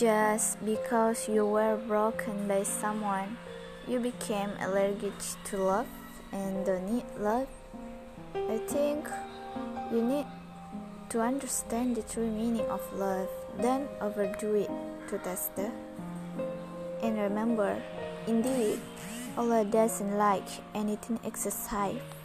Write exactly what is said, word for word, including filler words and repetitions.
Just because you were broken by someone, you became allergic to love and don't need love. I think you need to understand the true meaning of love, then overdo it to test it. And remember, indeed, Allah doesn't like anything excessive.